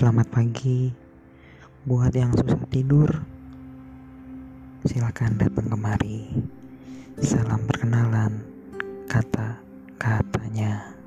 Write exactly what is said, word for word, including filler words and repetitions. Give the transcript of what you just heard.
Selamat pagi buat yang susah tidur. Silakan datang kemari. Salam perkenalan, kata-katanya.